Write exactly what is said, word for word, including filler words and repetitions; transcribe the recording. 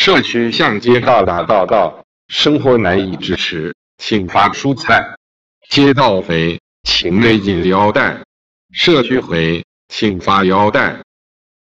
社区向街道打报告，生活难以支持，请发蔬菜。街道回，请勒紧腰带。社区回，请发腰带。